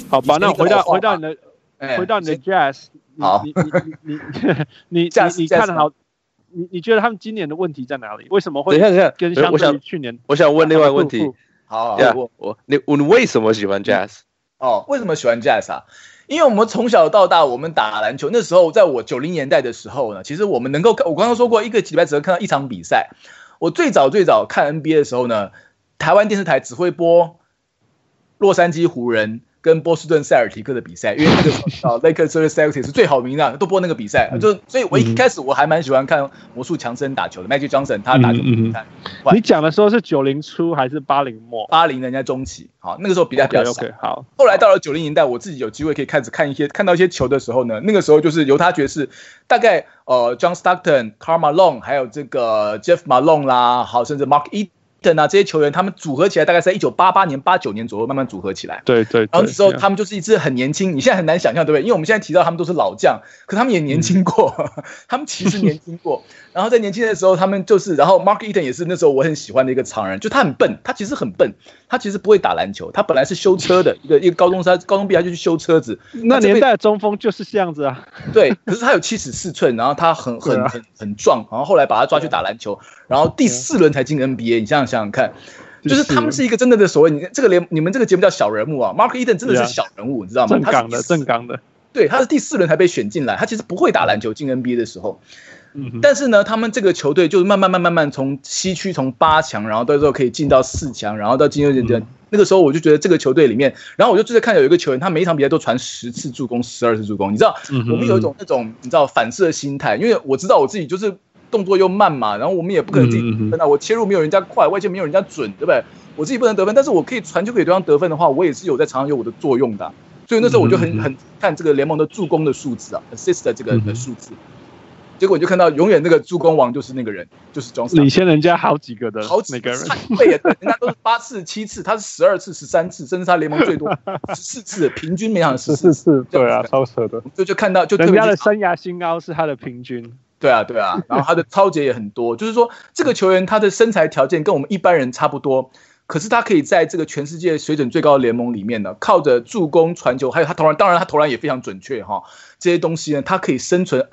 好吧，那回到你的 Jazz， 好， 你看好，你觉得他們今年的問題在哪裡？為什麼會跟相對於去年？ 我想問另外一個問題。 好， 你為什麼喜歡 Jazz？ 為什麼喜歡 Jazz 啊？因為我們從小到大，我們打籃球，那時候在我90年代的時候呢，其實我們能夠看，我剛剛說過，一個禮拜只能看到一場比賽。我最早看 NBA 的時候呢，台灣電視台只會播洛杉磯湖人跟波士頓塞爾提克的比賽，因為那個時候Lakers 和 Celtics 是最好名的，都播那個比賽。所以我一開始我還蠻喜歡看魔術強森打球的，Magic Johnson 他打球比賽。 你講的時候是90初還是80末 ？80人家中期，好，那個時候比賽比較少。 好， 後來到了90年代，我自己有機會可以看到一些球的時候呢，那個時候就是猶他爵士，大概John Stockton、Karl Malone 還有這個 Jeff Malone 啦，好，甚至 Mark Eaton 啊，這些球員他們組合起來大概在1988年、89年左右慢慢組合起來。 對。 然後那時候他们就是一支很年輕，你現在很難想象，对不对？因為我們現在提到他們都是老將，可他們也年輕過，他們其實年輕過。然後在年輕的時候，他們就是，然後 Mark Eaton 也是那時候我很喜歡的一個常人，就他很笨，他其實很笨，他其實不會打籃球，他本來是修車的一個高中畢業他就去修車子。 那年代的中鋒就是這樣子啊。 對，可是他有74寸，然後他很壯，然後後來把他抓去打籃球，然後第4輪才進 NBA， 你想想看。就是他們是一個真的的所謂你們這個節目叫小人物啊 ，Mark Eaton 真的是小人物，你知道嗎？ 正港的。 對，他是第4輪才被選進來，他其實不會打籃球，進 NBA 的時候。但是呢，他們這個球隊就是慢慢從西區從8強，然後到時候可以進到4強，然後到進入那個時候，我就覺得這個球隊裡面，然後我就看到有一個球員，他每一場比賽都傳10次助攻、12次助攻，你知道，我們有一種那種你知道反射心態，因為我知道我自己就是動作又慢嘛，然后我們也不可能自己得分啊，我切入沒有人家快，外線沒有人家準，對不對？我自己不能得分，但是我可以傳球給對方得分的話，我也是有在場上有我的作用的啊。所以那時候我就很看這個聯盟的助攻的數字啊 ，assist 的這個的數字。結果你就看到永遠那個助攻王就是那個人，就是 John Stockton，領先人家好幾個的，那個人。 對，人家都是8次、7次，他是12次、13次，甚至他聯盟最多14次，平均每場14次。 對啊，超扯的。 就看到，就人家的生涯新高是他的平均。 對啊，然後他的抄截也很多，就是說這個球員他的身材條件跟我們一般人差不多，可是他可以在這個全世界水準最高的聯盟裡面呢，靠着助攻、傳球，還有他投籃，當然他投籃也非常準確哈，這些東西呢，他可以生存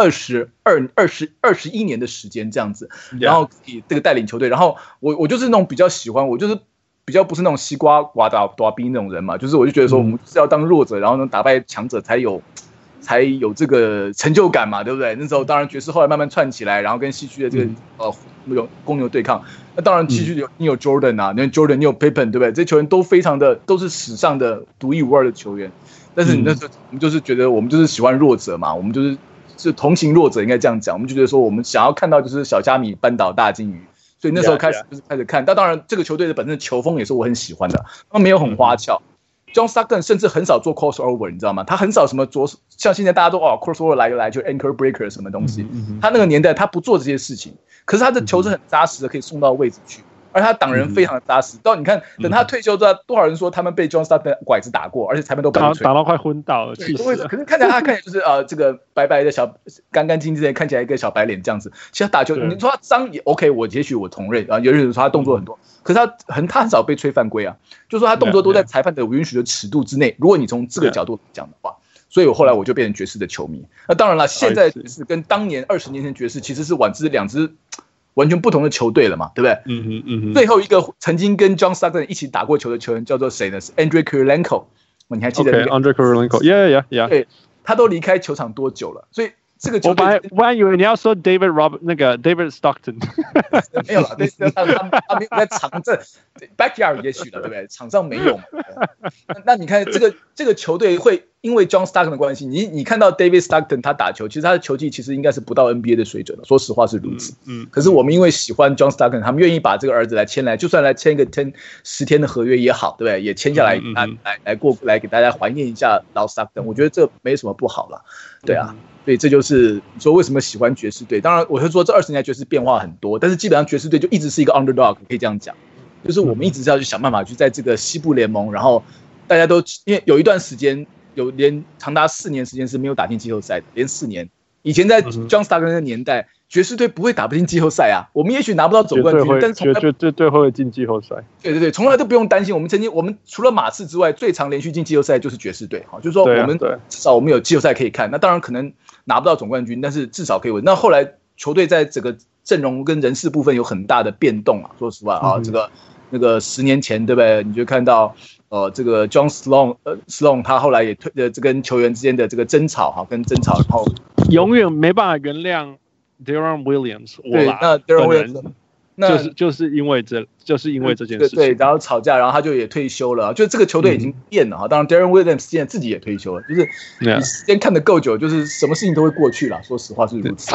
21年的時間這樣子，然後以這個帶領球隊，然後我就是那種比較喜歡，我就是比較不是那種西瓜瓦打兵那種人嘛，就是我就覺得說我們是要當弱者，然後能打敗強者才有這個成就感嘛，對不對？那時候當然爵士後來慢慢串起來，然後跟西區的這個公牛對抗。那當然西區你有 Jordan 啊，你有 Jordan， 你有 Pippen， 對不对？這些球員都非常的都是史上的獨一無二的球員。但是你那時候我們就是覺得我們就是喜歡弱者嘛，我們就是同情弱者，應該這樣講。我們就覺得說我們想要看到就是小蝦米扳倒大鯨魚，所以那時候開始看。但當然這個球隊的本身的球風也是我很喜歡的，他沒有很花俏。John Stockton 甚至很少做 crossover， 你知道嗎？他很少什麼像現在大家都crossover 來就 ankle breaker 什麼東西。他那個年代他不做這些事情，可是他的球是很扎實的，可以送到位置去，而他擋人非常的扎實。到你看，等他退休之後，多少人說他們被 John Stockton 拐子打過，而且裁判都打到快昏倒了。 可是看起来他看起来就是這個白白的干干淨淨的，看起來一個小白臉這樣子。其實他打球，你說他髒也 OK， 也許我同意啊。有人說他動作很多。可是他很少被吹犯規啊，就是說他動作都在裁判的允許的尺度之內。如果你從這個角度講的話，所以我後來我就變成爵士的球迷。那當然了，現在爵士跟當年20年前爵士其實是兩支完全不同的球隊了嘛，對不對？最後一個曾經跟 John Stockton 一起打過球的球員叫做誰呢？是 Andrei Kirilenko， 你還記得 ？Andrei Kirilenko，yeah。对， 他都離開球場多久了？所以。這個我本來以為你要說 David Stockton， 沒有了，他沒有在場這 backyard 也許了，對不對？場上沒有嘛。那你看這個球隊會因為 John Stockton 的關係，你看到 David Stockton 他打球，其實他的球技其實應該是不到 NBA 的水準的，說實話是如此。可是我們因為喜歡 John Stockton， 他們願意把這個兒子來就算來簽一個10天的合約也好，對不對？也簽下來來給大家懷念一下老 Stockton， 我覺得這沒什麼不好了，對啊。所以這就是你說為什麼喜歡爵士隊。當然，我會說這20年來爵士變化很多，但是基本上爵士隊就一直是一個 underdog， 可以這樣講。就是我們一直是要去想辦法去在這個西部聯盟，然後大家都因為有一段時間連長達4年時間是沒有打進季後賽的，連4年。 以前在 John Stockton 的年代，爵士隊不會打不進季後賽啊。我們也許拿不到總冠軍，但是絕對會進季後賽。 對，從來都不用擔心。我們除了馬刺之外，最常連續進季後賽就是爵士隊。就是說我們至少我們有季後賽可以看。那當然可能拿不到總冠軍，但是至少可以穩。那後來球隊在整個陣容跟人事部分有很大的變動啊。說實話啊，那個10年前對不對？你就看到。這個 John Sloan 他後來也這跟球員之間的這個爭吵跟争吵，然後永遠沒辦法原諒 Deron Williams。 對，那 Deron Williams 就是因为這件事情， 对，然後吵架，然後他就也退休了。就這個球隊已經變了當然 Deron Williams 現在自己也退休了，就是你時間看得夠久，就是什麼事情都會過去了。說實話是如此。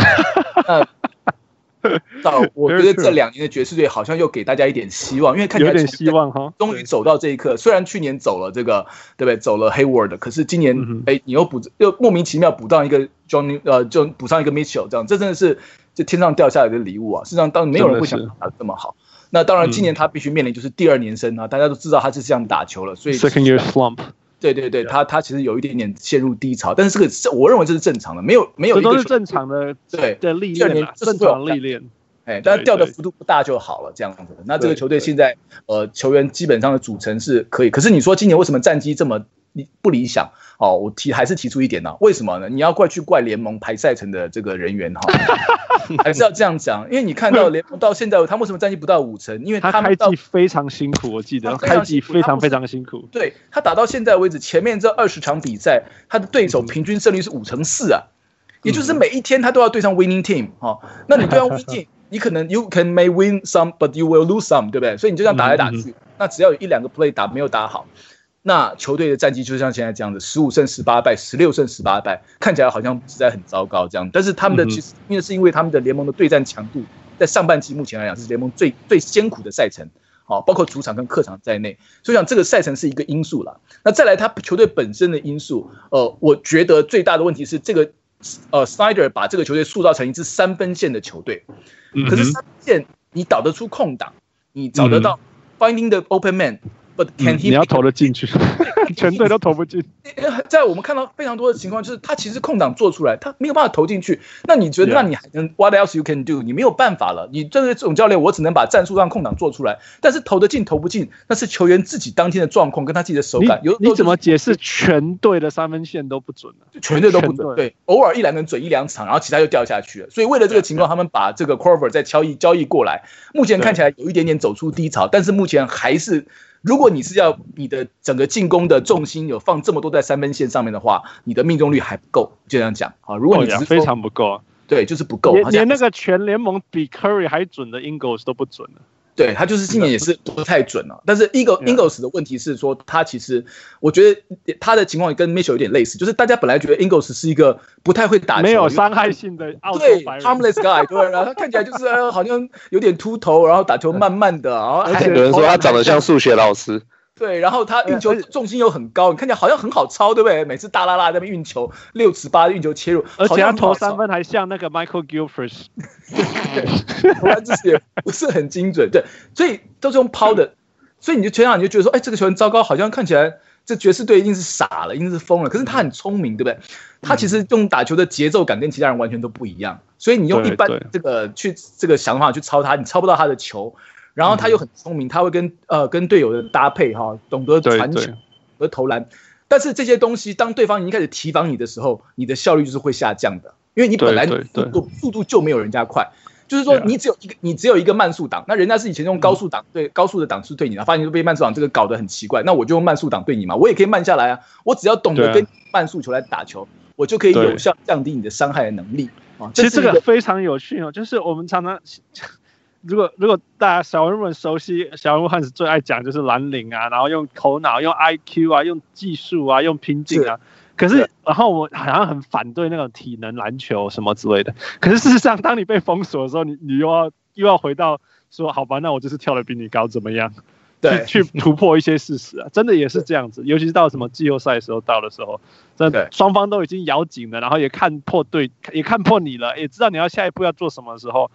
我覺得這2年的爵士隊好像又給大家一點希望，因為看起來有點希望哈，終於走到這一刻。雖然去年走了這個，對不對？走了 Hayward， 可是今年你又莫名其妙補上一個 Johnny， 就補上一個 Mitchell， 這真的是就天上掉下來的禮物啊！事實上，當然沒有人會想打得這麼好。那當然，今年他必須面臨就是第2年生啊，大家都知道他是這樣打球了，所以 second year slump。 對，他其實有一點點陷入低潮，但是我認為這是正常的，沒有一個這都是正常的歷練，正常歷練。 但是掉的幅度不大就好了，這樣子。那這個球隊現在球員基本上的組成是可以，可是你說今年為什麼戰績這麼不理想？我還是提出一點呢，為什麼呢？你要去怪聯盟排賽程的這個人員還是要這樣講，因為你看到聯盟到現在，他為什麼戰績不到5成？因為他開季非常辛苦，我記得開季非常辛苦。 對，他打到現在為止，前面這20場比賽，他的對手平均勝率是5.4%啊，也就是每一天他都要對上 winning team 那你對上 winning team。你可能 you may win some, but you will lose some， 對不對？所以你就這樣打來打去，那只要有1-2個 play 沒有打好，那球隊的戰績就像現在這樣子，15勝18敗，16勝18敗，看起來好像實在很糟糕這樣。但是他們的其實因為他們的聯盟的對戰強度，在上半季目前來講是聯盟最艱苦的賽程，包括主場跟客場在內，所以講這個賽程是一個因素啦。那再來他球隊本身的因素，我覺得最大的問題是這個Snyder 把這個球隊塑造成一支3分線的球隊。可是3分線你導得出空檔，你找得到 finding the open man，but can he？ 你要投得進去，全隊都投不進。 在我們看到非常多的情況，就是他其實空檔做出來，他沒有辦法投進去。那你覺得，那你還能 what else you can do？ 你沒有辦法了。你這種教練，我只能把戰術讓空檔做出來，但是投得進投不進，那是球員自己當天的狀況跟他自己的手感。 你怎麼解釋全隊的3分線都不準呢？ 全隊都不準，對，偶爾1-2個準1-2場，然後其他就掉下去了。所以為了這個情況，他們把這個 Korver 再交易過來，目前看起來有一點點走出低潮，但是目前還是。如果你是要你的整個進攻的重心有放這麼多在3分線上面的話，你的命中率還不夠，就這樣講。如果你只是非常不夠啊， 對，就是不夠， 連那個全聯盟比 Curry 還準的 Ingles 都不準了。 對，他就是今年也是不太準了。但是 Ingles 的問題是說，他其實我覺得他的情況跟 Mitchell 有點類似，就是大家本來覺得 Ingles 是一個不太會打球、 沒有傷害性的澳洲白人， 對 harmless guy， 對，然後他看起來就是好像有點禿頭，然後打球慢慢的，然後而且有人說他長得像數學老師。 對，然後他運球重心又很高，你看起來好像很好抄，對不對？每次大拉拉在那邊運球6尺8運球切入， 而且他投3分還像那個 Michael Gilchrist， 投籃姿勢也不是很精準，對，所以都是用拋的，所以你就全場你就覺得說，哎，這個球員糟糕，好像看起來這爵士隊一定是傻了，一定是瘋了。可是他很聰明，對不對？他其實用打球的節奏感跟其他人完全都不一樣，所以你用一般這個想法去抄他，你抄不到他的球。然後他又很聰明，他會跟隊友的搭配懂得傳球和投籃。但是這些東西，當對方已經開始提防你的時候，你的效率就是會下降的，因為你本來速度就沒有人家快。就是說，你只有一個慢速檔，那人家是以前用高速檔高速的檔次對你，發現就被慢速檔這個搞得很奇怪，那我就用慢速檔對你嘛，我也可以慢下來啊。我只要懂得跟慢速球來打球，我就可以有效降低你的傷害的能力。 其實這個非常有趣哦，就是我們常常。如果大家小人物熟悉，小人物漢斯最愛講就是藍領啊，然後用頭腦、用 IQ 啊、用技術啊、用拼勁啊。可是，然後我好像很反對那種體能籃球什麼之類的。可是事實上，當你被封鎖的時候，你又要回到說，好吧，那我就是跳得比你高，怎麼樣？對，去突破一些事實啊，真的也是這樣子。尤其是到什麼季後賽的時候到的時候，真的雙方都已經咬緊了，然後也看破你了，也知道你要下一步要做什麼的時候。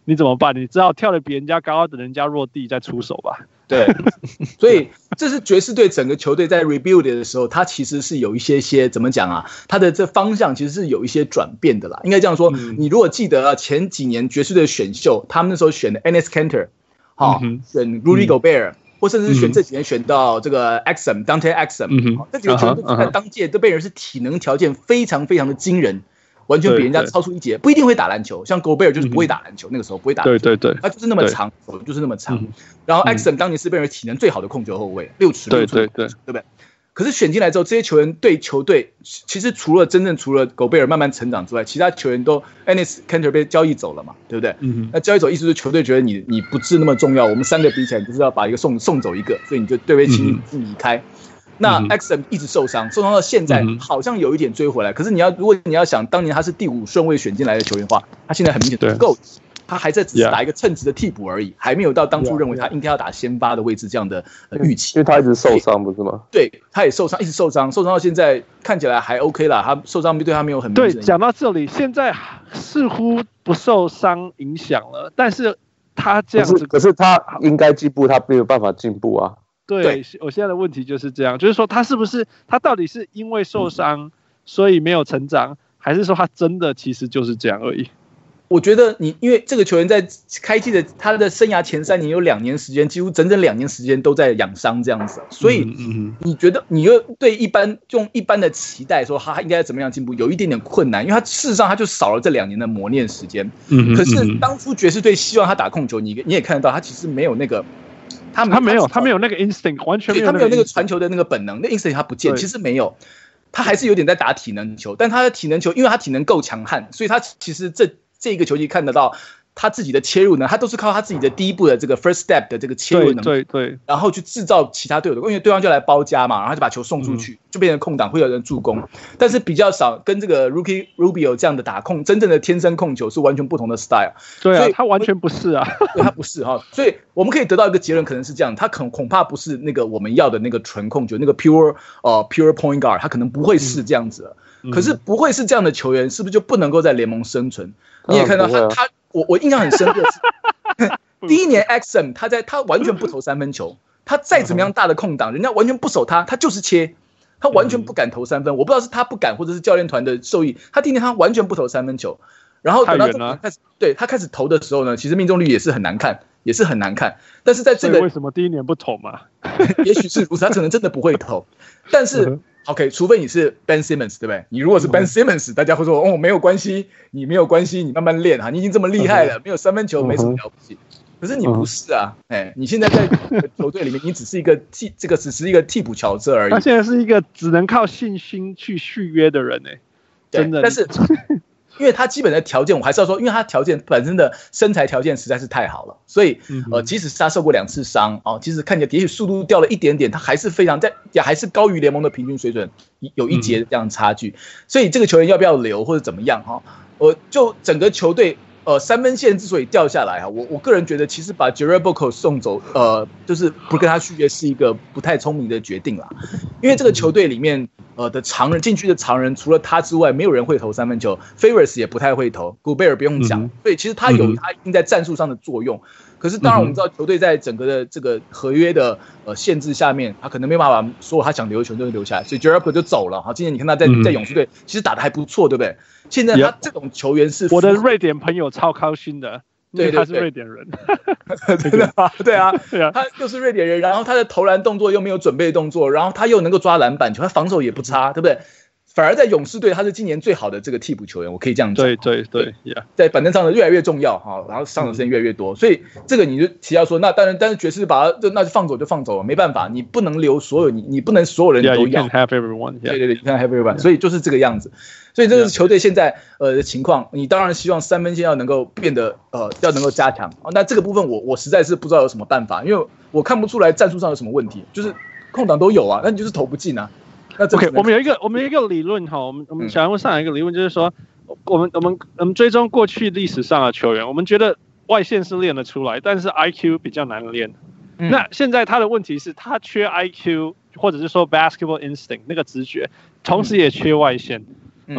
你怎麼辦？你只好跳得比人家高，等人家落地再出手吧。 对，所以這是爵士隊整個球隊在 rebuild 的時候，它其實是有一些怎麼講啊？它的這方向其實是有一些轉變的啦。應該這樣說，你如果記得啊，前幾年爵士隊選秀，他們那時候選的 Enes Kanter， 選 Rudy Gobert，或甚至是選這幾年選到這個 Dante Exum， 這幾個球隊在當屆都被人是體能條件非常非常的驚人。完全比人家超出一截，不一定會打籃球，像 Gobert 就是不會打籃球，那個時候不會打籃球，對，他就是那麼長，手就是那麼長。然後 Exum 當年是被人體能最好的控球後衛，6尺6寸，對不對？可是選進來之後，這些球員對球隊其實除了 Gobert 慢慢成長之外，其他球員都 Enes Kanter 被交易走了嘛，對不对？那交易走意思就是球隊覺得你不是那麼重要，我們3個比起來就是要把一個送走一個，所以你就对位轻易離開。那 Exum 一直受傷到現在，好像有一點追回來。可是如果你要想，當年他是第5順位選進來的球員的話，他現在很明顯不夠，他還在只是打一個稱職的替補而已，還沒有到當初認為他應該要打先發的位置這樣的預期。 因為他一直受傷，不是嗎？ 對，他也受傷，一直受傷到現在看起來還 OK 啦。他受傷對他沒有很明顯。 對，講到這裡，現在似乎不受傷影響了，但是他這樣子， 可是他應該進步，他沒有辦法進步啊。 對，我現在的問題就是這樣，就是說他到底是因為受傷所以沒有成長，還是說他真的其實就是這樣而已？ 我覺得因為這個球員在開季的他的生涯前3年有2年時間，幾乎整整2年時間都在養傷這樣子，所以你覺得你又對用一般的期待說他應該怎麼樣進步，有一點點困難，因為他事實上他就少了這2年的磨練時間。可是當初爵士隊希望他打控球，你也看得到他其實沒有那個。他沒有那個 instinct， 完全没有他沒有那個傳球的那個本能，那 instinct 他不見，其實沒有，他還是有點在打體能球，但他的體能球，因為他體能夠強悍，所以他其實這個球季看得到他自己的切入呢，他都是靠他自己的第一步的這個 first step 的這個切入能力，對，然後去制造其他隊友的，因為對方就來包夾嘛，然後就把球送出去，就變成空檔，會有人助攻，但是比較少跟這個 Ricky Rubio 這樣的打控，真正的天生控球是完全不同的 style。 對啊，他完全不是啊， 對，他不是哈，所以我們可以得到一個結論，可能是這樣，他恐怕不是那個我們要的那個純控球，那個 pure point guard， 他可能不會是這樣子了。可是不會是這樣的球員，是不是就不能夠在聯盟生存？你也看到我印象很深刻是第一年 Exum 他完全不投3分球，他再怎麼樣大的空檔，人家完全不守他就是切，他完全不敢投3分。我不知道是他不敢，或者是教練團的授意，他第一年他完全不投3分球。然後等到他開始投的時候呢，其實命中率也是很難看，但是在這個為什麼第一年不投嘛？ 也許是如此，他可能真的不會投，但是。OK， 除非你是 Ben Simmons， 对不對？你如果是 Ben Simmons， 大家會說哦，沒有關係，你沒有關係，你慢慢練哈，你已經這麼厲害了，沒有3分球沒什麼了不起。可是你不是啊，你現在在球隊裡面，你只是一個替補角色而已。 他現在是一個只能靠信心去續約的人真的。 但是因為他基本的條件，我還是要說，因為他條件本身的身材條件實在是太好了，所以即使是他受過2次傷即使看起来也許速度掉了一點點，他還是也還是高於聯盟的平均水準，有一截這樣差距。所以這個球員要不要留或者怎麼樣就整個球隊3分線之所以掉下來我個人覺得其實把 Jared Boko 送走就是不跟他續約是一個不太聰明的決定啦，因為這個球隊裡面的常人，禁區的常人，除了他之外，沒有人會投3分球。Favors 也不太會投 ，Gobert 不用講，所以其實他有他一定在戰術上的作用。可是當然我們知道，球隊在整個的這個合約的限制下面，他可能沒辦法所有他想留的球員都留下來，所以 Jared Boko 就走了。今年你看他在勇士隊其實打得還不錯，對不對？現在他這種球員是我的瑞典朋友超高興的。對，他是瑞典人， 真的嗎？對啊，他又是瑞典人，然後他的投籃動作又沒有準備動作，然後他又能夠抓籃板球，他防守也不差，對不对？反而在勇士隊，他是今年最好的這個替補球員，我可以這樣講。對，在板凳上的越來越重要然後上場時間越來越多，所以這個你就提到說，那當然，但是爵士把他那就放走就放走了，沒辦法，你不能留所有你不能所有人都要。 You can't have everyone. 對 ，you can't have everyone. 所以就是這個樣子。所以這個是球隊現在的情況，你當然希望3分線要能夠變得要能夠加強。那這個部分我實在是不知道有什麼辦法，因為我看不出來戰術上有什麼問題，就是空檔都有啊，那你就是投不進啊。 OK， 我們有一個理論我們小人物上有一個理論，就是說我們追蹤過去歷史上的球員，我們覺得外線是練得出來，但是 IQ 比較難練。那現在他的問題是他缺 IQ， 或者是說 basketball instinct 那個直覺，同時也缺外線。OK，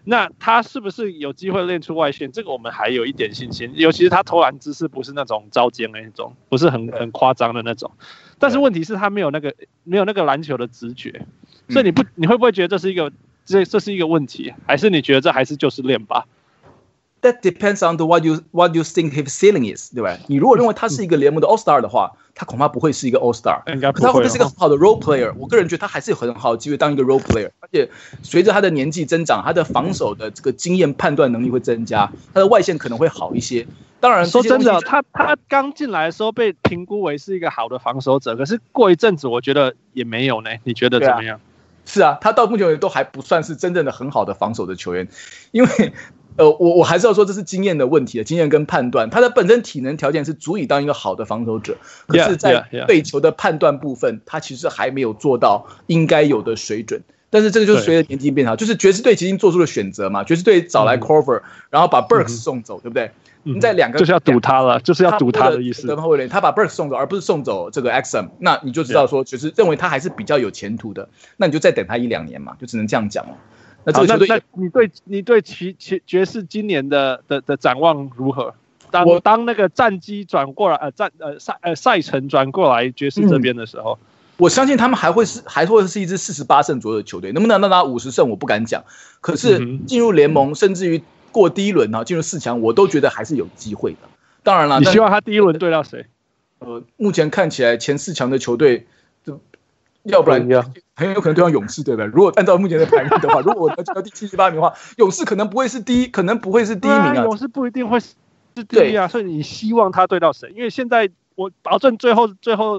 那他是不是有機會練出外線？這個我們還有一點信心，尤其是他投籃姿勢不是那種招肩的那種，不是很誇張的那種。但是問題是，他沒有那個籃球的直覺，所以你會不會覺得這是一個問題，還是你覺得這還是就是練吧 ？That depends on what you think his ceiling is， 对吧？你如果認為他是一個聯盟的 All Star 的話，他恐怕不會是一個 All Star。 應該不會。 他会不會是一個很好的 Role Player？ 我個人覺得他還是有很好的機會當一個 Role Player。而且隨着他的年紀增長，他的防守的這個經驗判斷能力會增加，他的外線可能會好一些。當然， 說真的，他剛進來的時候被評估為是一個好的防守者，可是過一陣子我覺得也沒有呢。你覺得怎麼樣？ 是啊，他到目前為止都還不算是真正的很好的防守的球員，因為。我還是要說，這是經驗的問題，經驗跟判斷，他的本身體能條件是足以當一個好的防守者，可是，在對球的判斷部分，他其實還沒有做到應該有的水準。但是這個就是隨着年紀變長，就是爵士隊已經做出了選擇嘛，爵士隊找來 Korver，然後把 Burks 送走，对不對？在兩個就是要賭他了，就是要賭他的意思。 他把 Burks 送走，而不是送走這個 Exum， 那你就知道說，就是認為他還是比較有前途的，那你就再等他1-2年嘛，就只能這樣講了。那這個球隊， 你对爵士今年的展望如何？當那個戰績轉過來，賽程轉過來爵士這邊的時候， 我相信他們還會是一支48勝左右的球隊，能不能到達50勝我不敢講。可是進入聯盟，甚至於過第一輪啊，進入4強，我都覺得還是有機會的。當然了， 你希望他第一輪對到誰？ 目前看起來前4強的球隊，要不然很有可能對上勇士，對不对？如果按照目前的排名的話，如果我得到第7、8名的話，勇士可能不會是第一，可能不會是第一名啊。 勇士不一定會是第一啊，所以你希望他對到誰？因為現在我保證最後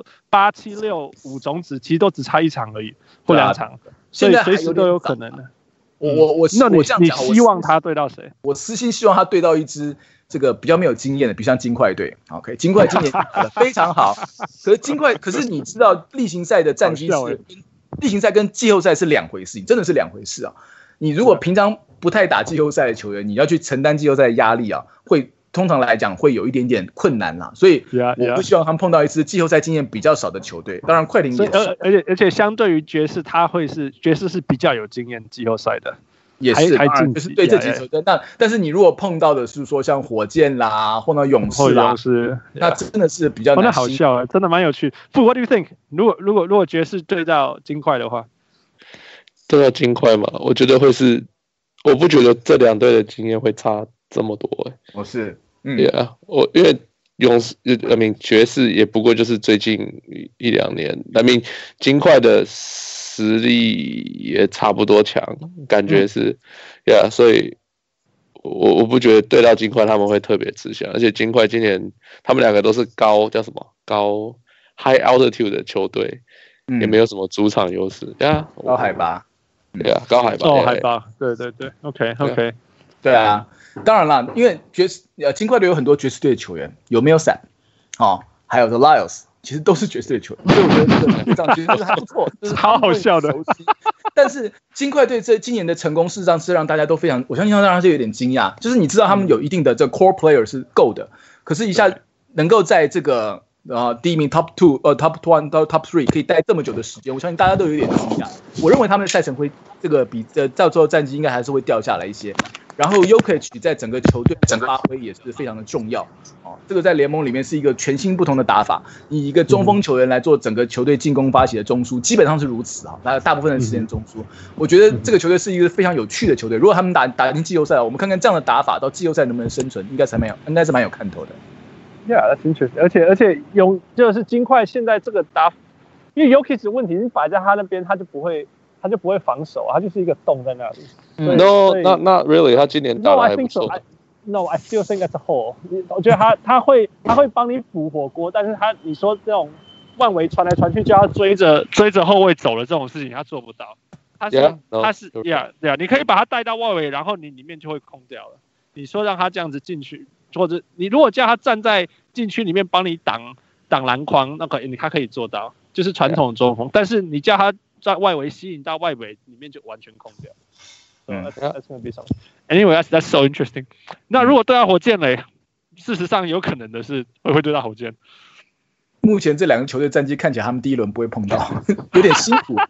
8、7、6、5種子其實都只差1場而已，或2場，所以隨時都有可能的。那你希望他對到誰？ 我私心希望他對到一支這個比較沒有經驗的，比如像金塊隊。OK， 金塊今年打得非常好，可是你知道例行賽的戰績是例行賽跟季後賽是兩回事，真的是两回事啊！你如果平常不太打季後賽的球員，你要去承擔季後赛的壓力啊，通常來講會有一點點困難啦。所以我不希望他們碰到一支季後賽經驗比較少的球隊。當然快艇也是， 而且相對於爵士，爵士是比较有經驗季後賽的。 也是，就是对这几球队。但是你如果碰到的是说像火箭啦，碰到勇士啦，那真的是比较难。 那好笑啊，真的蠻有趣。What do you think？ 如果爵士对到金塊的話， 对到金塊嘛，我覺得會是，我不覺得這兩隊的經驗會差這麼多。Yeah， 因為勇士爵士也不過就是最近1-2年，金塊的實力也差不多強，感覺是，Yeah， 所以我不覺得對到金塊他們會特別吃香，而且金塊今年他們兩個都是高 high altitude 的球隊，也沒有什麼主場優勢，Yeah， 高海拔， 對啊，高海拔， 海拔，對 ，OK， 對啊，當然啦，因為金塊隊有很多爵士隊的球員，有 Millsap， 還有 The Lyles。其實都是爵士隊球員，所以我覺得這個隊長其實還不錯，就是超好笑的。 但是金塊隊今年的成功，事實上是讓大家都非常，我相信让大家就有點驚訝，就是你知道他們有一定的這個 core player 是夠的，可是一下能夠在這個第一名 top 2、top 1到 top 3可以待這麼久的時間，我相信大家都有點驚訝。我認為他們的賽程會這個比到最後戰績應該還是會掉下來一些。然後 Jokic 在整個球隊的發揮也是非常的重要，這個在聯盟裡面是一個全新不同的打法。以一個中鋒球員來做整個球隊進攻發起的中樞，基本上是如此啊，大部分的時間中樞。我覺得這個球隊是一個非常有趣的球隊。如果他們打進季後賽，我們看看這樣的打法到季後賽能不能生存，應該是蠻有看頭的。 Yeah， that's interesting。而且就是金塊現在這個打法，因為 Jokic 的問題是擺在他那邊，他就不會防守，他就是一個洞在那裡。 No，not really。他今年打得還不錯。 No，I still think as a whole。我覺得他會幫你補火鍋，但是你說這種萬維傳來傳去叫他追着後衛走的這種事情，他做不到。他是 Yeah， 你可以把他帶到外圍，然後你裡面就會空掉了。你說讓他這樣子進去，或者你如果叫他站在禁區裡面幫你擋籃筐，那個他可以做到，就是傳統中鋒。但是你叫他在外圍吸引到外圍裡面就完全空掉。That's gonna be something. Anyway, that's so interesting. 那如果對到火箭嘞，事實上有可能的是會對到火箭。 目前這兩個球隊戰績看起來，他們第一輪不會碰到，有點辛苦。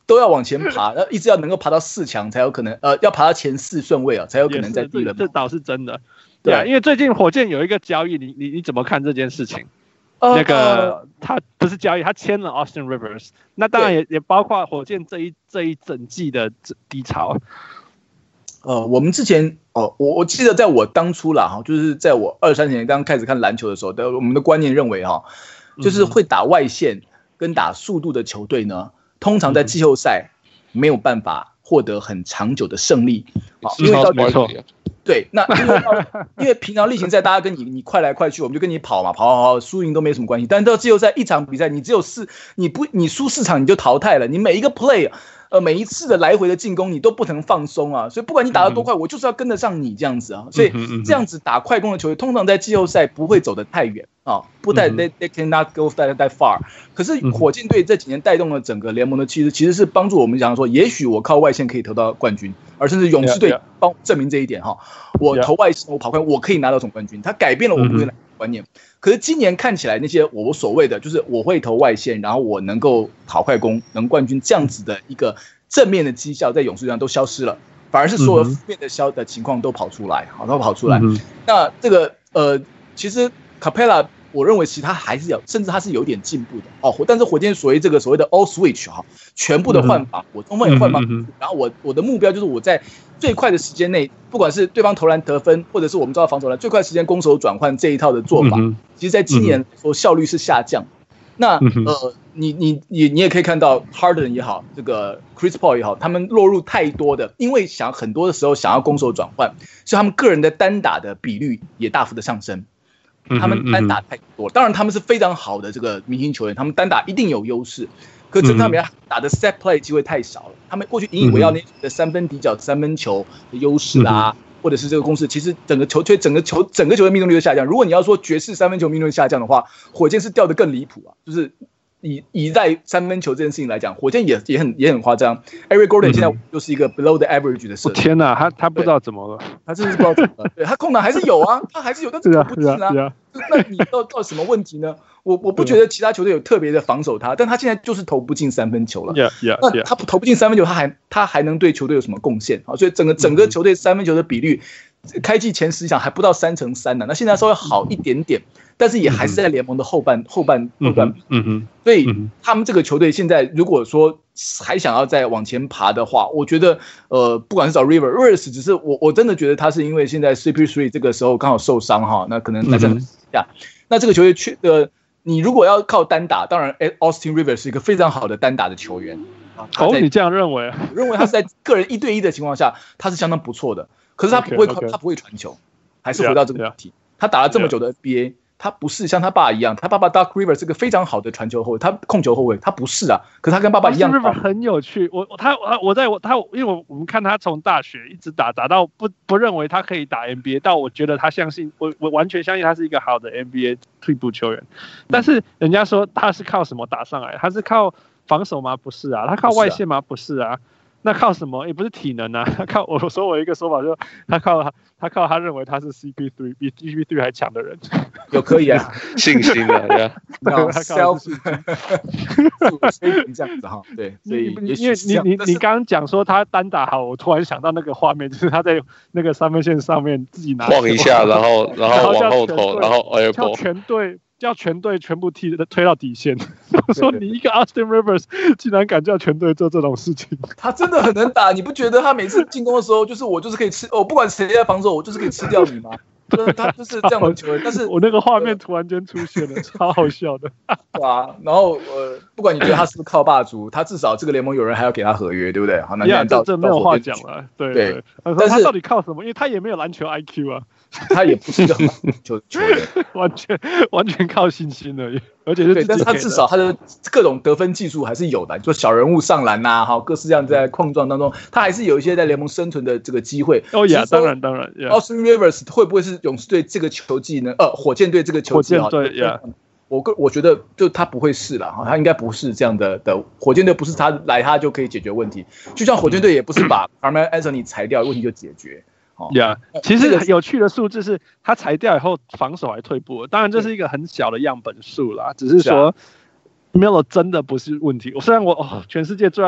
都要往前爬，一直要能夠爬到4強才有可能，要爬到前4順位啊，才有可能在第一輪。 这倒是真的，对啊，因为最近火箭有一个交易，你怎麼看這件事情？那個他不是交易，他簽了 Austin Rivers， 那當然也包括火箭這一整季的低潮。 我們之前我記得在我當初啦哈，就是在我23年剛開始看籃球的時候，我們的觀念認為哈，就是會打外線跟打速度的球隊呢，通常在季後賽沒有辦法獲得很長久的勝利，因為到沒錯。對，那因為平常例行賽大家跟你快來快去，我們就跟你跑嘛，跑，輸贏都沒什麼關係。但是到季後賽一場比賽，你只有你輸4場你就淘汰了，你每一個 play。每一次的來回的進攻，你都不能放鬆啊！所以不管你打得多快，我就是要跟得上你這樣子啊！所以這樣子打快攻的球隊，通常在季後賽不會走得太遠啊，不太 they cannot go that far。可是火箭隊這幾年帶動了整個聯盟的氣勢，其實是幫助我們講說，也許我靠外線可以投到冠軍，而甚至勇士隊幫證明這一點哈，我投外線，我跑快，我可以拿到總冠軍，他改變了我們對籃球觀念。可是今年看起來，那些我所謂的就是我會投外線，然後我能夠跑快攻，能冠軍這樣子的一個正面的績效，在勇士上都消失了，反而是所有負面的情況都跑出來，都跑出來。那這個其實 Capela 我認為其實他還是甚至他是有點進步的哦。但是火箭所謂的 all switch 哈，全部的換防，我中鋒也換防，然後我的目標就是我在最快的時間內，不管是對方投籃得分，或者是我們知道防守籃最快時間攻守轉換這一套的做法，其實在今年說效率是下降。那你也可以看到 Harden 也好，這個 Chris Paul 也好，他們落入太多的，因為很多的時候想要攻守轉換，所以他們個人的單打的比率也大幅的上升。他們單打太多，當然他們是非常好的這個明星球員，他們單打一定有優勢。可是他們打的 set play 機會太少了，他們過去引以為傲那的三分底角三分球的優勢啦，或者是這個公式，其實整個球的命中率都下降。如果你要說爵士三分球命中率下降的話，火箭是掉得更離譜啊！就是以在三分球這件事情來講，火箭也很誇張。Eric Gordon 現在就是一個 below the average 的射手。天哪，他不知道怎麼了， 他真是不知道怎麼了。對，他空檔還是有啊，他還是有，但是投不進啊。那你到什麼問題呢？我不覺得其他球隊有特別的防守他，但他現在就是投不進三分球了。那他投不進三分球，他還能對球隊有什麼貢獻啊？所以整個球隊三分球的比率，開季前10場還不到3成3呢。那現在稍微好一點點，但是也還是在聯盟的後半。所以他們這個球隊現在如果說還想要再往前爬的話，我覺得不管是找 Rivers， 只是我真的覺得他是因為現在 CP3 這個時候剛好受傷哈，那可能來這下。那這個球隊你如果要靠單打，當然 Austin Rivers 是一個非常好的單打的球員。 你這樣認為？ 我認為他是在個人1對1的情況下，他是相當不錯的。可是他不會傳球，還是回到這個問題。他打了這麼久的 NBA， 他不是像他爸一樣，他爸爸 Doc Rivers 是個非常好的傳球後衛，他控球後衛，他不是啊。可是他跟爸爸一樣。 Rivers 很有趣，因為我們看他從大學一直打到不認為他可以打 NBA， 到我覺得他相信我完全相信他是一個好的 NBA 退步球員。但是人家說他是靠什麼打上來？他是靠防守嗎？不是啊。他靠外線嗎？不是啊。那靠什麼？也不是體能啊。我一個說法就是他靠他認為他是 CP3 比 CP3 還強的人， 有可以啊， 信心的呀， self 這樣子哈，對，所以因為你剛剛講說他單打好，我突然想到那個畫面，就是他在那個三分線上面自己拿晃一下，然後往後投，然後叫全隊全部推到底線。我說你一個 Austin Rivers 竟然敢叫全隊做這種事情， 他真的很能打。你不覺得他每次進攻的時候，我就是可以吃，不管誰在防守，我就是可以吃掉你嗎？他就是這樣的球員。但是我那個畫面突然間出現了，超好笑的。 對啊，然後不管你覺得他是不是靠霸主，他至少這個聯盟有人還要給他合約，對不對？好，那這沒有話講了。對，但是他到底靠什麼？因為他也沒有籃球 IQ 啊。 他也不是一個球員， 完全靠信心而已，而且是自己。 但是他至少他的各種得分技術還是有的，就小人物上籃吶，哈，各式各樣在碰撞當中，他還是有一些在聯盟生存的這個機會。 哦呀，當然。 Austin Rivers 會不會是勇士隊這個球季呢？火箭隊這個球季？我覺得就他不會是啦，他應該不是這樣的火箭隊，不是他就可以解決問題。就像火箭隊也不是把 Carmelo Anthony 裁掉，問題就解決。 其實有趣的數字是，他裁掉以後防守還退步了。當然這是一個很小的樣本數啦，只是說 Melo 真的不是問題。雖然我全世界最愛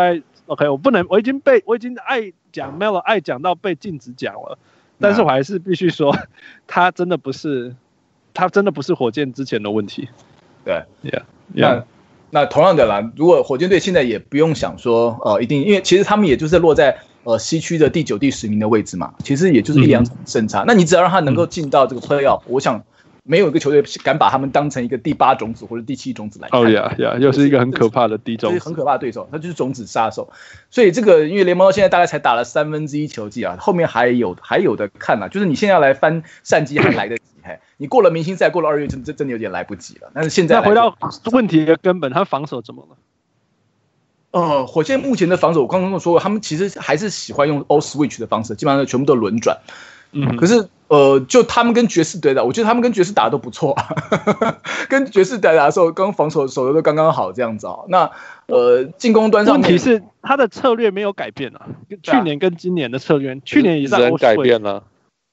OK， 我已經愛講 Melo 愛講到被禁止講了，但是我還是必須說，他真的不是火箭之前的問題。 對 ，Yeah。 那同樣的啦，如果火箭队現在也不用想說一定，因為其實他們也就是落在西區的第9、第10名的位置嘛，其實也就是1-2場勝差。那你只要讓他能夠進到這個 playoff，我想。沒有一個球隊敢把他們當成一個第8種子或者第7種子來看。 哦呀，又是一個很可怕的第種子， 很可怕的對手，他就是種子殺手。所以這個因為聯盟到現在大概才打了1/3球季啊，後面還有的看啊，就是你現在要來翻戰績還來得及，你過了明星賽，過了2月真的有點來不及了。但是現在回到問題的根本，他防守怎麼了？ 火箭目前的防守，我剛剛說過，他們其實還是喜歡用 all switch 的方式，基本上全部都輪轉。可是就他們跟爵士隊打，我覺得他們跟爵士打的都不錯跟爵士打的時候，刚防守守的都刚刚好這樣子那進攻端上面， 問題是他的策略沒有改變啊，去年跟今年的策略，去年也在改變了，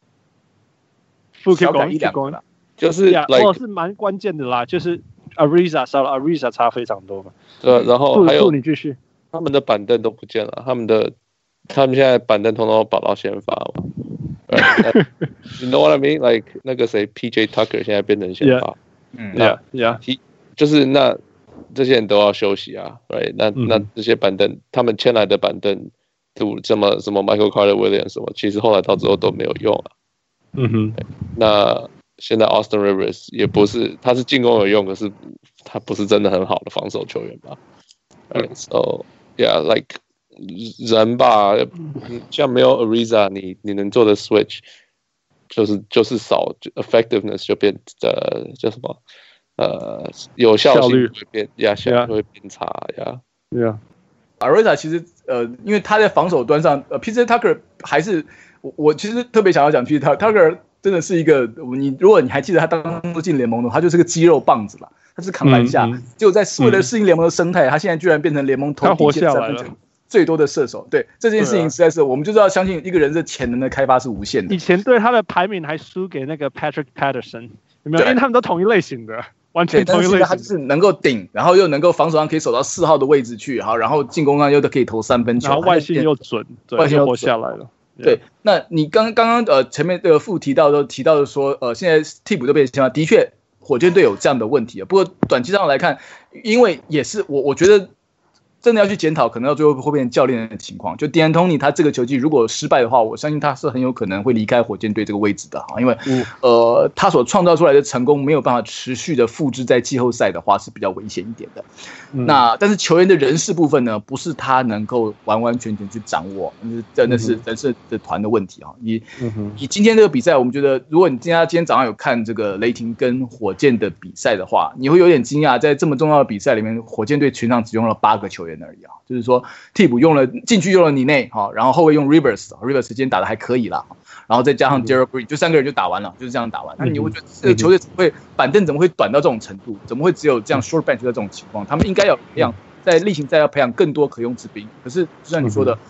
小改1-2個啦， 就是是蠻關鍵的啦，就是 Ariza 少了 Ariza 差非常多嘛。 對，然後還有你繼續， 他們的板凳都不見了，他們現在板凳通通都保到先發嘛。You know what I mean? Like 那個誰 PJ Tucker 現在變成先發，就是那這些人都要休息啊 ，right？ 那這些板凳，他們簽來的板凳，什麼 Michael Carter Williams 什麼，其實後來到最後都沒有用啊。那現在 Austin Rivers 也不是，他是進攻有用，可是他不是真的很好的防守球員吧 ？Right? So yeah, like. 人吧，像沒有 Ariza， 你能做的 switch 就是少 effectiveness 就变叫什麼有效性会变效率会变差呀。 Ariza 其實因為他在防守端上，PJ Tucker 還是我其實特別想要講 PJ Tucker 真的是一個如果你還記得他當初進聯盟的話，他就是個肌肉棒子啦，他是扛籃下，結果為了適應聯盟的生態，他現在居然變成聯盟頭底線3分球最多的射手，對這件事情實在是，我們就知道相信一個人的潛能的開發是無限的。 以前對他的排名還輸給那個 Patrick Patterson， 有沒有？因為他們都同一類型的，完全同一類型的。 他就是能夠頂，然後又能夠防守上可以守到4號的位置去，好，然後進攻上又可以投3分球， 然後外线又準，外线活下來了。 对，那你剛剛前面這個副提到的說，現在替補都被先發，的確火箭隊有這樣的問題。不過短期上來看，因為也是我覺得。真的要去檢討，可能到最後會變成教練的情況。就 D'Antoni 他這個球季如果失敗的話，我相信他是很有可能會離開火箭隊這個位置的，因為他所創造出來的成功沒有辦法持續的複製在季後賽的話是比較危險一點的。但是球員的人事部分呢，不是他能夠完完全全去掌握，真的是人事的團的問題啊。以今天這個比賽，我們覺得如果你今天早上有看這個雷霆跟火箭的比賽的話，你會有點驚訝，在這麼重要的比賽裡面，火箭隊全場只用了8個球員而已啊，就是說替補禁區用了尼內哈，然後後衛用 Rivers 今天打得還可以啦，然後再加上 Gerald Green， 就3個人就打完了，就是這樣打完。那你會覺得這個球隊板凳怎麼會短到這種程度？怎麼會只有這樣 short bench 的這種情況？他們應該要培養，在例行賽要培養更多可用之兵。可是就像你說的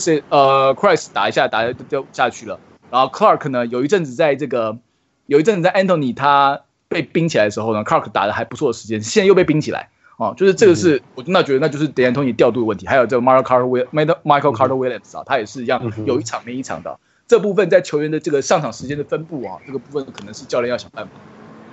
，Christ 打一下就下去了，然後 Clark 呢有一陣子在 Anthony 他被冰起來的時候呢 ，Clark 打得還不錯的時間，現在又被冰起來。就是這個是我覺得那就是 D'Antoni 調度的問題，還有這個 Michael Carter Williams 啊，他也是一樣，有一場沒一場的。這部分在球員的這個上場時間的分布啊，這個部分可能是教練要想辦法。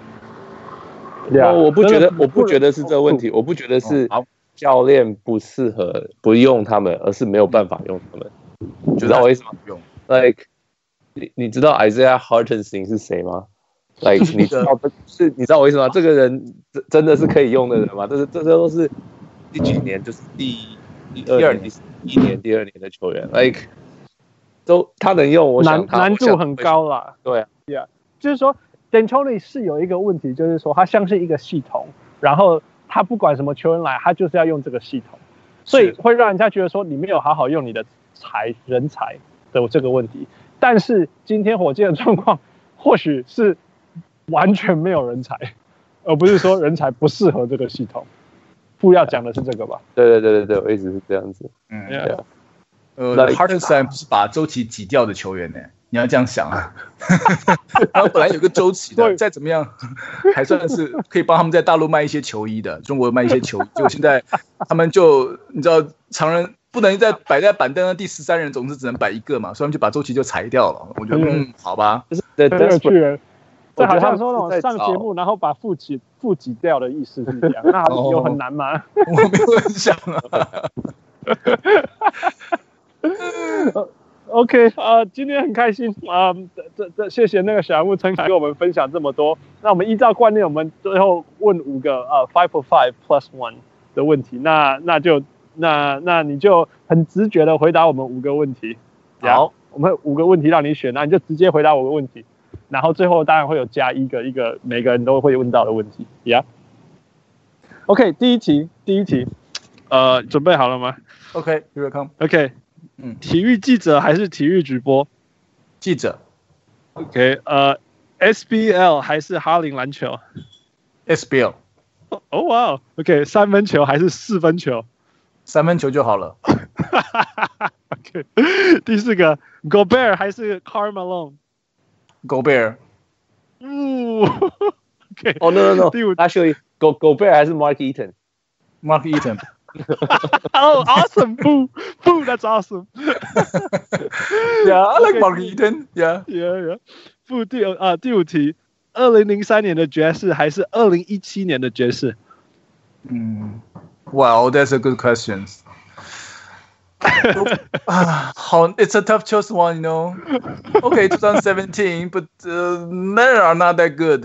我不覺得是這個問題，我不覺得是教練不適合不用他們，而是沒有辦法用他們。知道我意思嗎？用 ，like 你知道 Isaiah Hartenstein 是誰嗎？Like 你知道我意思嗎？這個人真的是可以用的人嗎？這都是第幾年？就是第二年、第1年、第2年的球員。Like 都他能用，我想難度很高啦。 對啊， 就是說 D'Antoni 是有一個問題，就是說他像是一個系統，然後他不管什麼球員來，他就是要用這個系統，所以會讓人家覺得說你沒有好好用你的人才的這個問題。但是今天火箭的狀況或許是完全沒有人才，而不是說人才不適合這個系統。不要講的是這個吧？ 對，我一直是這樣子。 Hartenstein 不是把周琦擠掉的球員呢？你要這樣想啊。然後本來有個周琦的，再怎麼樣還算是可以幫他們在大陸賣一些球衣的，中國賣一些球衣。結果現在他們就你知道，常人不能再擺在板凳上第13人，總是只能擺一個嘛，所以他們就把周琦就裁掉了。我覺得好吧， 很有趣了。這好像說那種上節目然後把副擠掉的意思是這樣，那有很難嗎？ 我沒有很想啊。 OK 今天很開心謝謝那個小人物陳凱跟我們分享這麼多。那我們依照慣例，我們最後問5個5 for 5 plus 1的問題。那你就很直覺的回答我們5個問題。好，我們5個問題讓你選，那你就直接回答5個問題。然後最後當然會有加一個每個人都會問到的問題。OK， 第一題，準備好了嗎 ？OK， here we come。 OK。體育記者還是體育主播？ 記者。 OK， SBL 還是哈林籃球 ？SBL。 哦哇 ，OK， 3分球還是4分球 ？3分球就好了。 OK， 第4個 ，Gobert 還是 Karl Malone？Gobert。OK。 哦 no， 第5 ，Actually Gobert 還是 Mark Eaton？Mark Eaton。Oh, awesome! Boo, that's awesome. Yeah, I like Mark Eaton. Yeah. 第5題，2003年的爵士還是2017年的爵士 ？Wow, that's a good question. It's a tough choice one, you know. Okay, 2017, but men are not that good.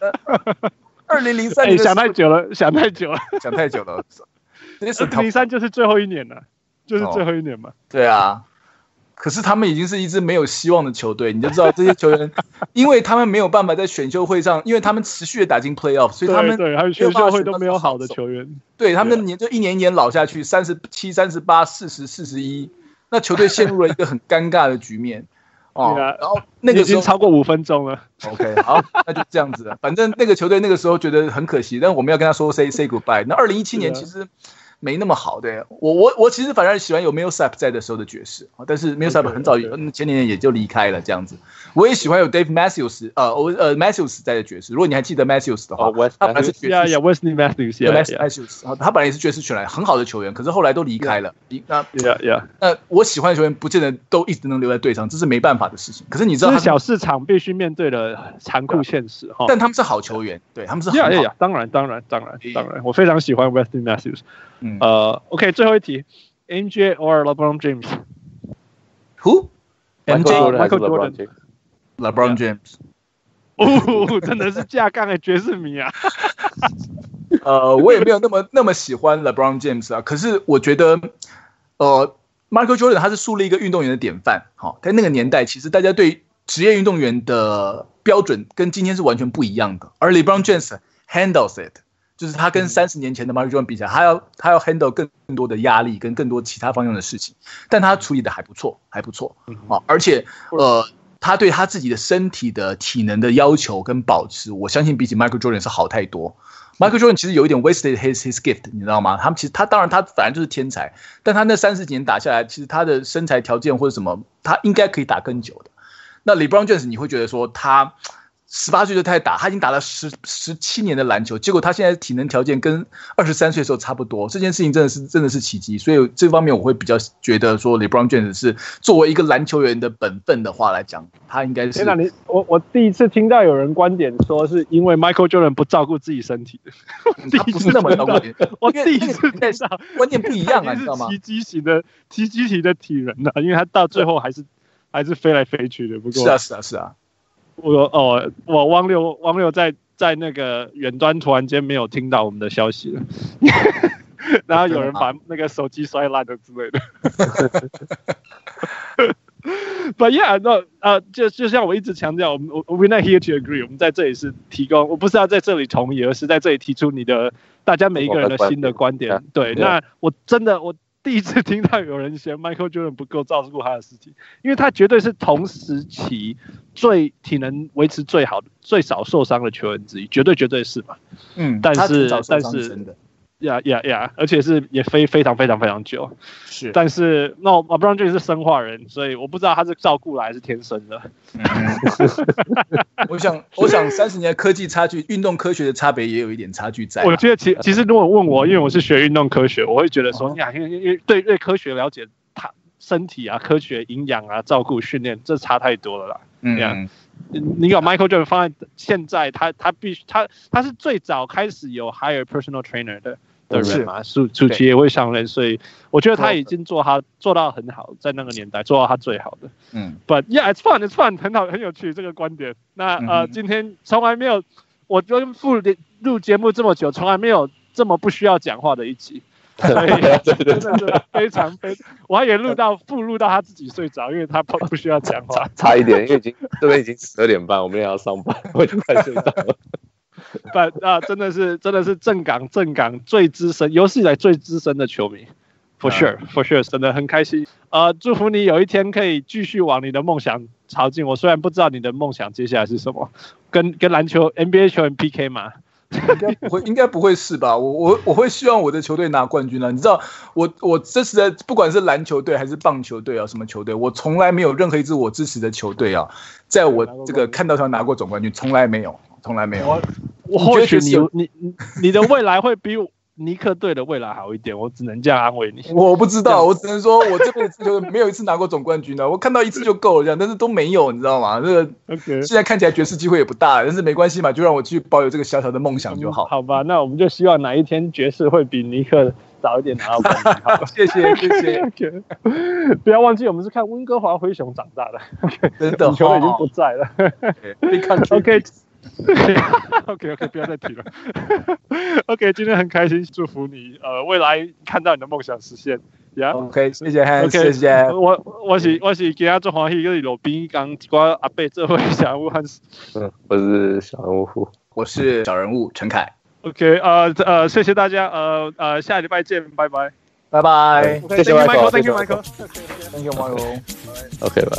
2003年想太久了。2003就是最後一年了，就是最後一年嘛。 對啊，可是他們已經是一支沒有希望的球隊，你就知道這些球員，因為他們沒有辦法在選秀會上，因為他們持續的打進 playoff， 所以他們還有選秀會都沒有好的球員。 對，他們就一年老下去，37、38、40、41，那球隊陷入了一個很尷尬的局面。然後那個時候已經超過5分鐘了。 OK， 好，那就這樣子了。反正那個球隊那個時候覺得很可惜，但我們要跟他說 say goodbye。那2017年其實沒那麼好的。我其實反而喜歡有 Millsap 在的時候的爵士，但是 Millsap 很早前年也就離開了這樣子。我也喜歡有 Dave Matthews 在的爵士。如果你還記得 Matthews 的話，他本來是爵士 ，Wesley Matthews， 他本來也是爵士選來很好的球員，可是後來都離開了。那我喜歡的球員不見得都一直能留在隊上，這是沒辦法的事情。可是你知道， 小市場必須面對的殘酷現實哈。 但他們是好球員，對，他們是很好。 當然，我非常喜歡 Wesley Matthews。OK， 最後一題 ，MJ or LeBron James？Who？ Michael Jordan。LeBron James。 真的是架槓的爵士迷啊！ 我也沒有那麼喜歡 LeBron James 啊，可是我覺得Michael Jordan 他是樹立一個運動員的典範。在那個年代，其實大家對職業運動員的標準跟今天是完全不一樣的。而 LeBron James handles it。就是他跟30年前的 Michael Jordan 比起來，他要 handle 更多的壓力跟更多其他方向的事情，但他處理的還不錯。而且他對他自己的身體的體能的要求跟保持，我相信比起 Michael Jordan 是好太多。Michael Jordan 其實有一點 wasted his gift， 你知道嗎？他當然他反正就是天才，但他那30幾年打下來，其實他的身材條件或者什麼，他應該可以打更久的。那 LeBron James 你會覺得說他18歲就開始打，他已經打了17年的籃球，結果他現在體能條件跟23歲的時候差不多，這件事情真的是奇蹟。所以這方面我會比較覺得說 LeBron James 是作為一個籃球員的本分的話來講，他應該是。 我第一次聽到有人觀點說是因為 Michael Jordan 不照顧自己身體， 他不是那麼照顧。 我第一次聽到觀念不一樣啊，你知道嗎？ 奇蹟型的體能啊，因為他到最後還是飛來飛去的。不過是啊。 我汪六在那個遠端突然間沒有聽到我們的消息了，然後有人把那個手機摔爛了之類的。But yeah, no, 就像我一直強調，we're not here to agree， 我們在這裡是提供，我不是要在這裡同意，而是在這裡提出大家每一個人的新的觀點。對，那我第一次聽到有人嫌 Michael Jordan 不夠照顧他的身體，因為他絕對是同時期最體能維持最好的、最少受傷的球員之一，絕對是嘛。但是而且是也非常非常非常久。 是， 但是那LeBron James 是生化人，所以我不知道他是照顧来还是天生的。 我想30年科技差距，运動科學的差別也有一點差距在。 我覺得其實如果問我，因為我是學運動科學，我會覺得說，因為對科學了解，他身體啊、科學、營養啊、照顧、訓練，這差太多了啦。你把 Michael Jordan 放在現在，他是最早開始有 hire personal trainer 的人嘛，暑期也會上任，所以我覺得他已經做到很好，在那個年代做到他最好的。But yeah, it's fun， 很有趣這個觀點。那今天從來沒有，我跟傅錄節目這麼久，從來沒有這麼不需要講話的一集。所以真的是非常，我還以為錄到他自己睡着，因為他不需要講話。 差一點，因為這邊已經12點半，我們也要上班，我就快睡着了。 真的是正港最資深，有史以來最資深的球迷 ，for sure， 真的很開心。祝福你有一天可以繼續往你的夢想朝進。我雖然不知道你的夢想接下來是什麼，跟籃球 NBA 球員 PK 嗎？ 應該不會是吧？我會希望我的球隊拿冠軍啊！你知道，我支持的不管是籃球隊還是棒球隊啊，什麼球隊，我從來沒有任何一支我支持的球隊啊，在我這個看到他拿過總冠軍，從來沒有。 我或許你的未來會比尼克隊的未來好一點，我只能這樣安慰你。 我不知道，我只能說我這輩子就沒有一次拿過總冠軍的，我看到一次就夠了這樣，但是都沒有，你知道嗎？這個現在看起來爵士機會也不大，但是沒關係嘛，就讓我繼續保有這個小小的夢想就好。 好吧，那我們就希望哪一天爵士會比尼克早一點拿到冠軍。好，謝謝。不要忘記，我們是看溫哥華灰熊長大的， 真的， 球已經不在了。OK， 不要再提了。OK， 今天很開心，祝福你未來看到你的夢想實現。 OK， 謝謝 Hans， 謝謝。 我是今天最歡喜，就是路邊剛一個阿伯做會小人物 Hans。 我是小人物， 我是小人物陳凱。 OK， 謝謝大家，下禮拜見，拜拜。 拜拜。 謝謝 Michael，Thank you Michael。Thank you Michael。OK， 拜。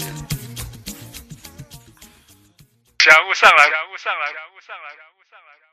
小人物上來。